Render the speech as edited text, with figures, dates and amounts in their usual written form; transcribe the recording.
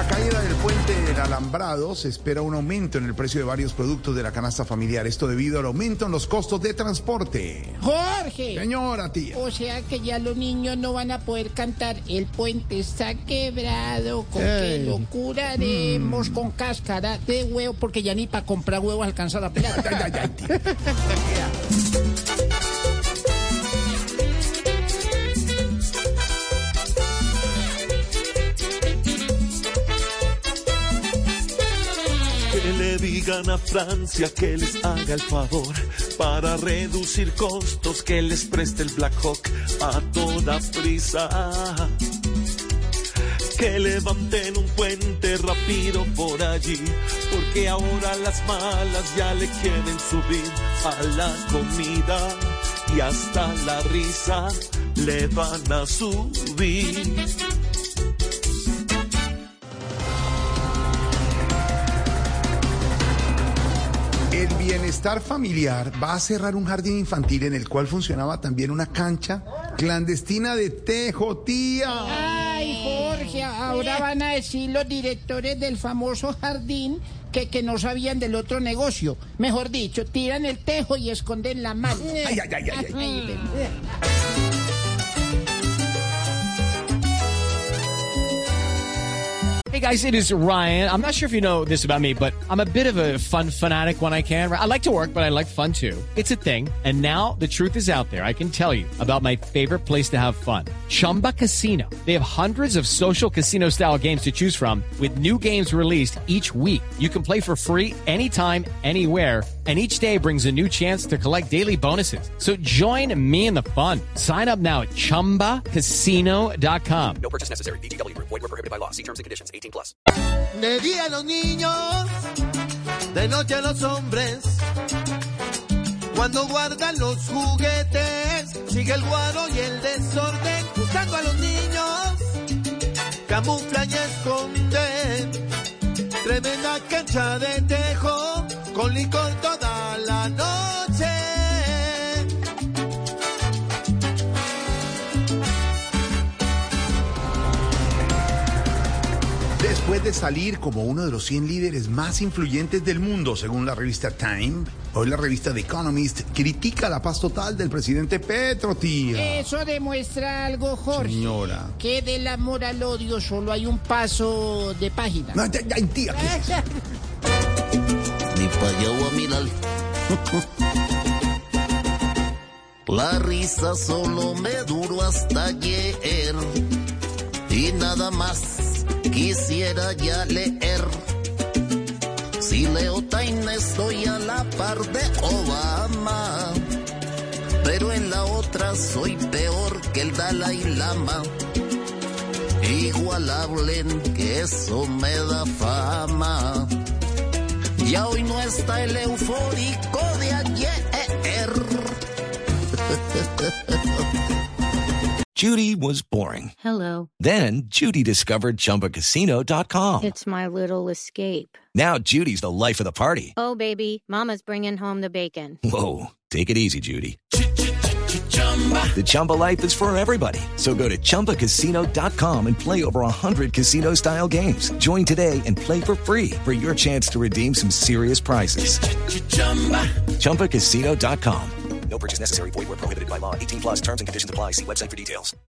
Caída del puente del Alambrado, se espera un aumento en el precio de varios productos de la canasta familiar. Esto debido al aumento en los costos de transporte. Jorge. Señora tía. O sea que ya los niños no van a poder cantar El puente está quebrado, con qué locura haremos, con cáscara de huevo, porque ya ni para comprar huevos alcanza la plata. Ay, tía. Que le digan a Francia que les haga el favor para reducir costos, que les preste el Black Hawk a toda prisa. Que levanten un puente rápido por allí, porque ahora las malas ya le quieren subir a la comida y hasta la risa le van a subir. El Bienestar Familiar va a cerrar un jardín infantil en el cual funcionaba también una cancha clandestina de tejo, tía. Ay, Jorge, ahora van a decir los directores del famoso jardín que no sabían del otro negocio. Mejor dicho, tiran el tejo y esconden la mano. Ay. Hey guys, it is Ryan. I'm not sure if you know this about me, but I'm a bit of a fun fanatic when I can. I like to work, but I like fun too. It's a thing. And now the truth is out there. I can tell you about my favorite place to have fun. Chumba Casino. They have hundreds of social casino style games to choose from with new games released each week. You can play for free anytime, anywhere. And each day brings a new chance to collect daily bonuses. So join me in the fun. Sign up now at ChumbaCasino.com. No purchase necessary. VGW Group. Void where prohibited by law. See terms and conditions. 18+. De día a los niños, de noche a los hombres. Cuando guardan los juguetes, sigue el guaro y el desorden. Buscando a los niños, camuflan y esconden. Tremenda cancha de tejo, con licor toda la noche. Después de salir como uno de los 100 líderes más influyentes del mundo, según la revista Time, hoy la revista The Economist critica la paz total del presidente Petro, tía. Eso demuestra algo, Jorge. Señora. Que del amor al odio solo hay un paso de página. Ay, tía, ¿qué es eso? Ni pa' allá voy a mirar. La risa solo me duró hasta ayer y nada más quisiera ya leer. Si leo Time estoy a la par de Obama, pero en la otra soy peor que el Dalai Lama. Igualable, que eso me da fama. Ya hoy no está el eufórico de ayer. Judy was boring. Hello. Then Judy discovered ChumbaCasino.com. It's my little escape. Now Judy's the life of the party. Oh, baby, mama's bringing home the bacon. Whoa, take it easy, Judy. The Chumba life is for everybody. So go to ChumbaCasino.com and play over 100 casino-style games. Join today and play for free for your chance to redeem some serious prizes. ChumbaCasino.com. No purchase necessary. Void where prohibited by law. 18+. Terms and conditions apply. See website for details.